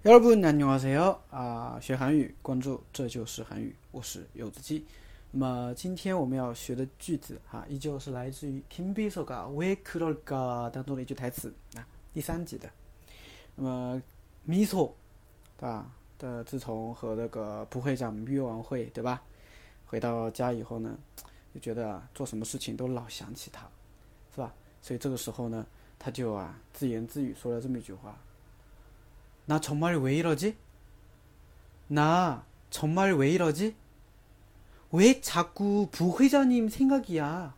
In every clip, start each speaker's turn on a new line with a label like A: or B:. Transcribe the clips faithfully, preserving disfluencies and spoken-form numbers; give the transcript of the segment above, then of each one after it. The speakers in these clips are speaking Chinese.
A: 여러분 안녕하세요啊，学韩语关注这就是韩语，我是柚子鸡。那么今天我们要学的句子啊，依旧是来自于김비서가왜그럴까当中的一句台词啊，第三集的。那么미소对吧？的自从和那个部会长约完会，对吧？回到家以后呢，就觉得啊，做什么事情都老想起他，是吧？所以这个时候呢，他就啊自言自语说了这么一句话：나정말왜이러지？ 나 정말 왜 이러지? 왜 자꾸 부회장님 생각이야?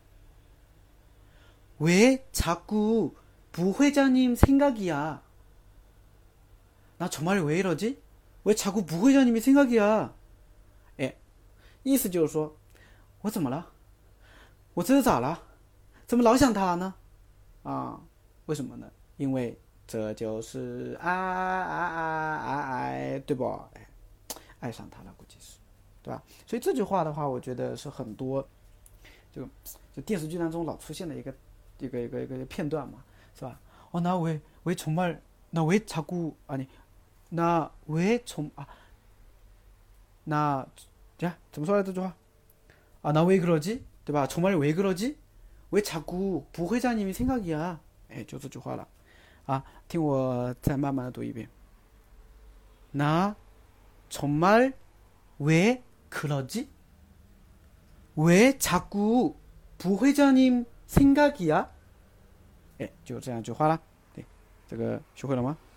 A: 왜 자꾸 부회장님 생각이야? 나 정말 왜 이러지? 왜 자꾸 부회장님이 생각이야? 哎，意思就是说，我怎么了？我这是咋了？怎么老想他呢？啊，为什么呢？因为这就是爱爱爱爱爱，对不？哎，爱上他了，估计是，对吧？所以这句话的话，我觉得是很多就就电视剧当中老出现的一个一个一个一个片段嘛，是吧？哦，나왜왜정말나왜자꾸아니나왜정아나 야怎么说来这句话啊？나왜그러지对吧？정말왜그러지 왜 자꾸 부회장님이 생각이야？哎，就这句话了啊！听我再慢慢的读一遍。나 정말 왜 그러지? 왜 자꾸 부회장님 생각이야? 哎，就这样一句话啦。对，这个学会了吗？